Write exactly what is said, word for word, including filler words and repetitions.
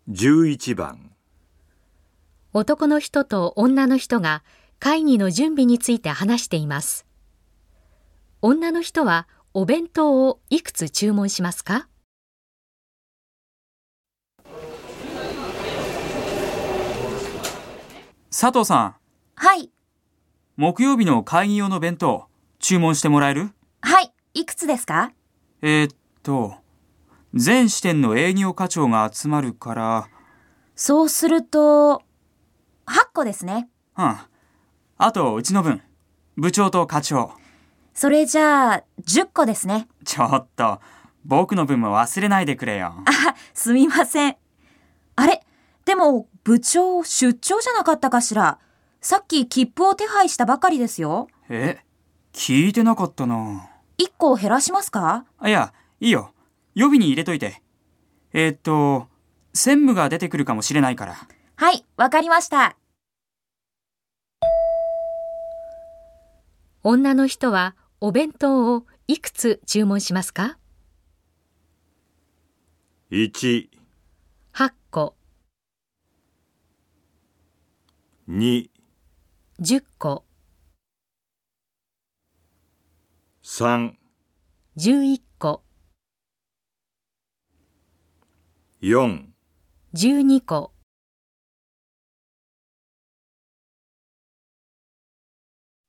じゅういちばん。 男の人と女の人が会議の準備について話しています。女の人はお弁当をいくつ注文しますか？ 佐藤さん。 はい。 木曜日の会議用の弁当、注文してもらえる？ はい。いくつですか？ えー、っと、全支店の営業課長が集まるから。 そうすると、はっこですね。 うん。あと、うちの分。部長と課長。 それじゃあ、じゅっこですね。 ちょっと、僕の分も忘れないでくれよ。 あ、すみません。あれ？でも、部長、出張じゃなかったかしら。さっき切符を手配したばかりですよ。 え？聞いてなかったな。 いっこ減らしますか？ あ、いや、いいよ。予備に入れといて。えー、っと、専務が出てくるかもしれないから。 はい、わかりました。 女の人はお弁当をいくつ注文しますか？ いち、 はっこ、 に、 じゅっこ、 さん、 じゅういっこ、 よん、 じゅうにこ。